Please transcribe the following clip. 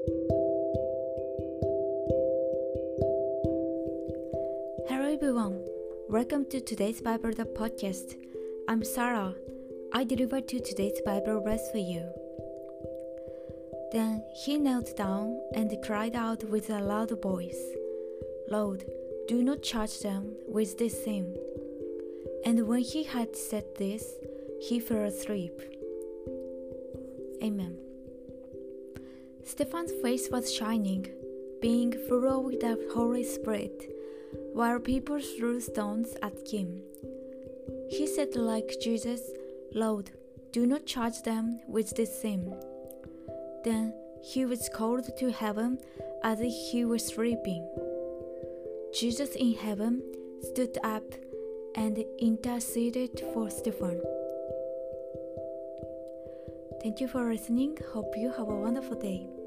Hello everyone, welcome to today's Bible the podcast. I'm Sarah. I delivered to today's Bible verse for you. Then he knelt down and cried out with a loud voice, Lord, do not charge them with this sin. And when he had said this, he fell asleep. Amen. Stephen's face was shining, being full of the Holy Spirit, while people threw stones at him. He said like Jesus, Lord, do not charge them with this sin. Then he was called to heaven as he was sleeping. Jesus in heaven stood up and interceded for Stephen. Thank you for listening. Hope you have a wonderful day.